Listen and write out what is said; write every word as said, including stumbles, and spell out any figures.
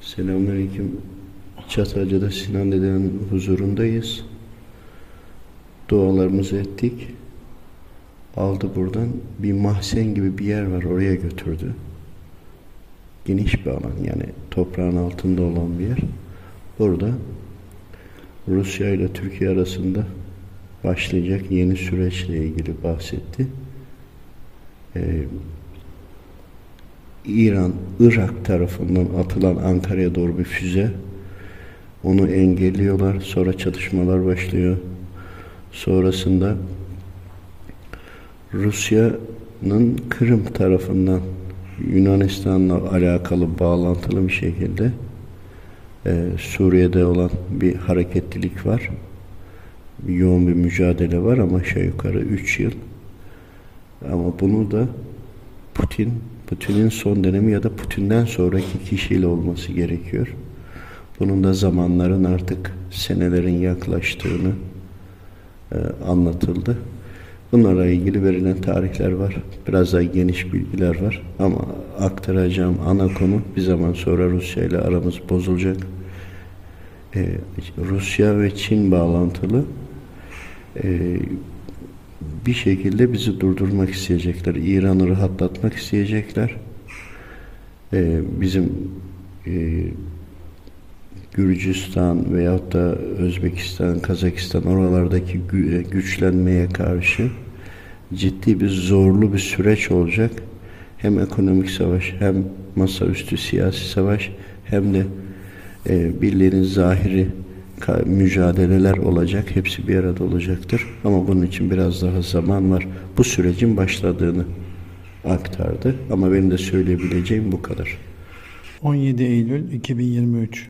Selamünaleyküm. Çatalca'da Sinan dedenin huzurundayız. Dualarımızı ettik. Aldı buradan bir mahzen gibi bir yer var, oraya götürdü. Geniş bir alan, yani toprağın altında olan bir yer. Burada Rusya ile Türkiye arasında başlayacak yeni süreçle ilgili bahsetti. Ee, İran, Irak tarafından atılan Ankara'ya doğru bir füze, onu engelliyorlar. Sonra çatışmalar başlıyor. Sonrasında Rusya'nın Kırım tarafından Yunanistan'la alakalı bağlantılı bir şekilde e, Suriye'de olan bir hareketlilik var. Bir yoğun bir mücadele var ama aşağı yukarı üç yıl. Ama bunu da Putin, Putin'in son dönemi ya da Putin'den sonraki kişiyle olması gerekiyor. Bunun da zamanların artık senelerin yaklaştığını e, anlatıldı. Bunlarla ilgili verilen tarihler var. Biraz daha geniş bilgiler var. Ama aktaracağım ana konu, bir zaman sonra Rusya ile aramız bozulacak. Ee, Rusya ve Çin bağlantılı ee, bir şekilde bizi durdurmak isteyecekler. İran'ı rahatlatmak isteyecekler. Ee, bizim e, Gürcistan veyahut da Özbekistan, Kazakistan oralardaki gü güçlenmeye karşı ciddi bir zorlu bir süreç olacak. Hem ekonomik savaş, hem masaüstü siyasi savaş, hem de e, birilerinin zahiri mücadeleler olacak. Hepsi bir arada olacaktır. Ama bunun için biraz daha zaman var. Bu sürecin başladığını aktardı. Ama benim de söyleyebileceğim bu kadar. on yedi Eylül iki bin yirmi üç